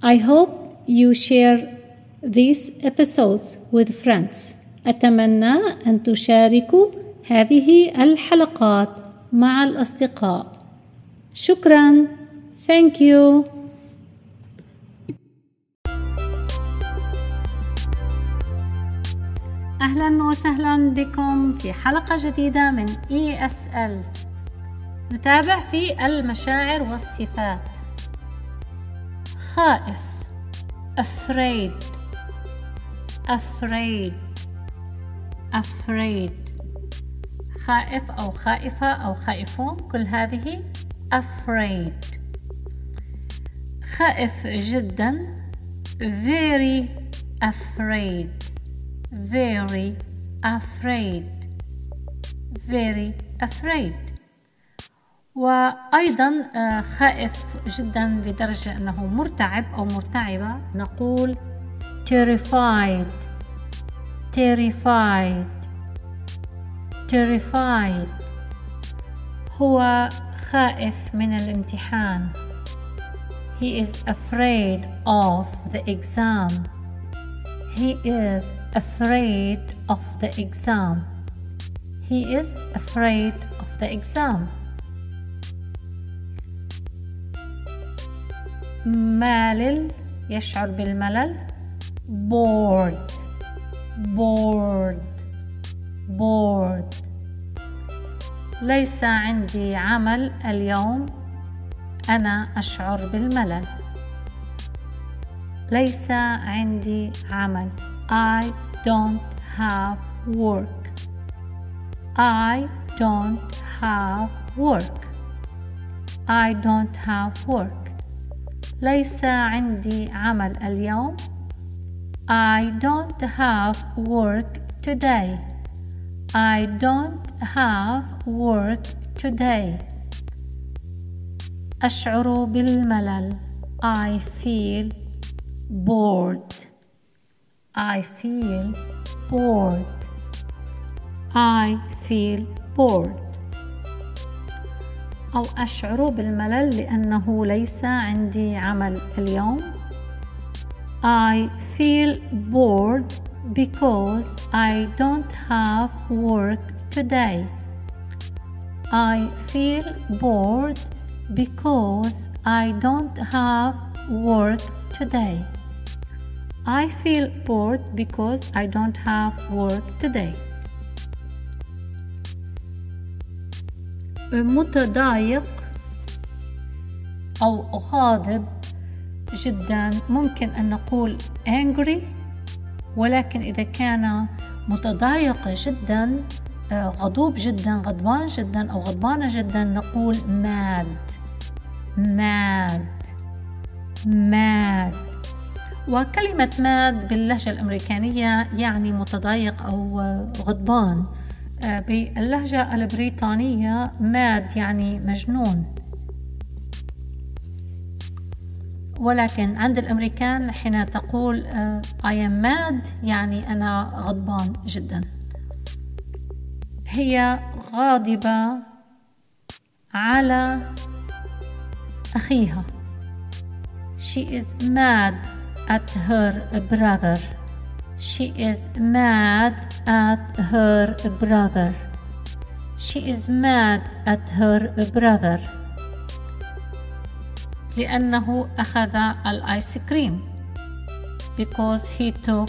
I hope you share these episodes with friends. أتمنى أن تشاركوا هذه الحلقات مع الأصدقاء. شكراً. Thank you. أهلاً وسهلاً بكم في حلقة جديدة من ESL. نتابع في المشاعر والصفات. خائف afraid خائف أو خائفة أو خائفون، كل هذه afraid. خائف جدا very afraid. وأيضا خائف جدا لدرجة أنه مرتعب أو مرتعبة، نقول terrified. هو خائف من الامتحان. He is afraid of the exam. مالل، يشعر بالملل. bored. ليس عندي عمل اليوم، أنا أشعر بالملل. ليس عندي عمل. I don't have work. ليس عندي عمل اليوم. I don't have work today. أشعر بالملل. I feel bored. أو أشعر بالملل لأنه ليس عندي عمل اليوم. I feel bored because I don't have work today. متضايق أو غاضب جدا، ممكن أن نقول angry، ولكن إذا كان متضايق جدا، غضوب جدا، غضبان جدا أو غضبانة جدا، نقول mad. وكلمة mad باللهجة الأمريكانية يعني متضايق أو غضبان. باللهجة البريطانية mad يعني مجنون، ولكن عند الأمريكان حين تقول I am mad يعني أنا غضبان جدا. هي غاضبة على أخيها. She is mad at her brother. لأنه أخذ الآيس كريم. Because he took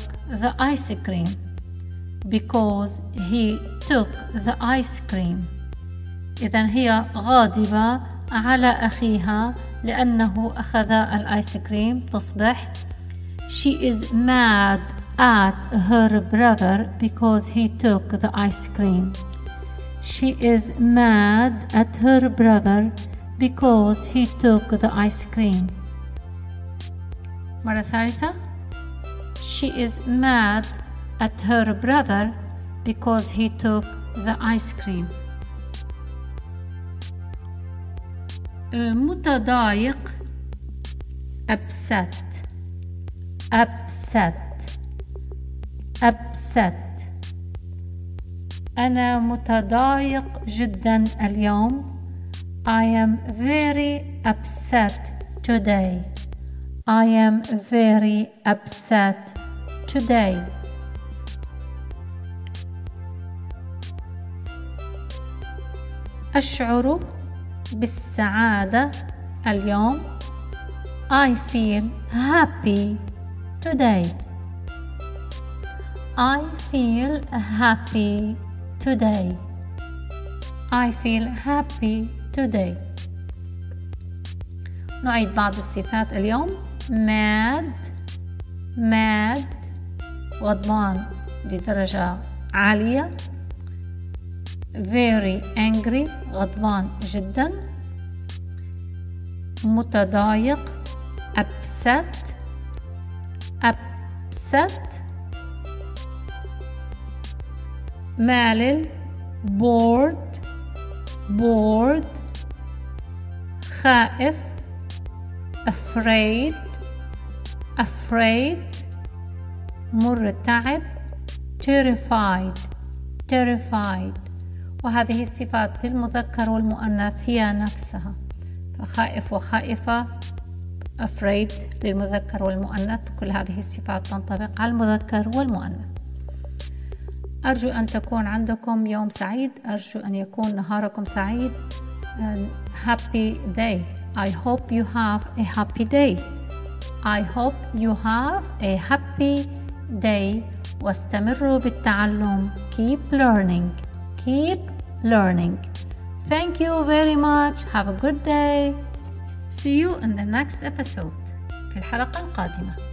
the ice cream. إذن هي غاضبة على أخيها لأنه أخذ الآيس كريم. تصبح She is mad at her brother because he took the ice cream. مرة ثالثة. She is mad at her brother because he took the ice cream. متضايق upset. أنا متضايق جدا اليوم. I am very upset today. I am very upset today. أشعر بالسعادة اليوم. I feel happy today. I feel happy today. I feel happy today. نعيد بعض الصفات اليوم. mad غضبان بدرجة عالية. very angry غضبان جدا. متضايق upset. مالل bored. خائف afraid. مرتعب terrified. وهذه الصفات للمذكر والمؤنث هي نفسها، فخائف وخائفة، afraid للمذكر والمؤنث، كل هذه الصفات تنطبق على المذكر والمؤنث. أرجو أن تكون عندكم يوم سعيد، أرجو أن يكون نهاركم سعيد. Happy day. I hope you have a happy day. I hope you have a happy day. واستمروا بالتعلم. Keep learning. Thank you very much. Have a good day. See you in the next episode. في الحلقة القادمة.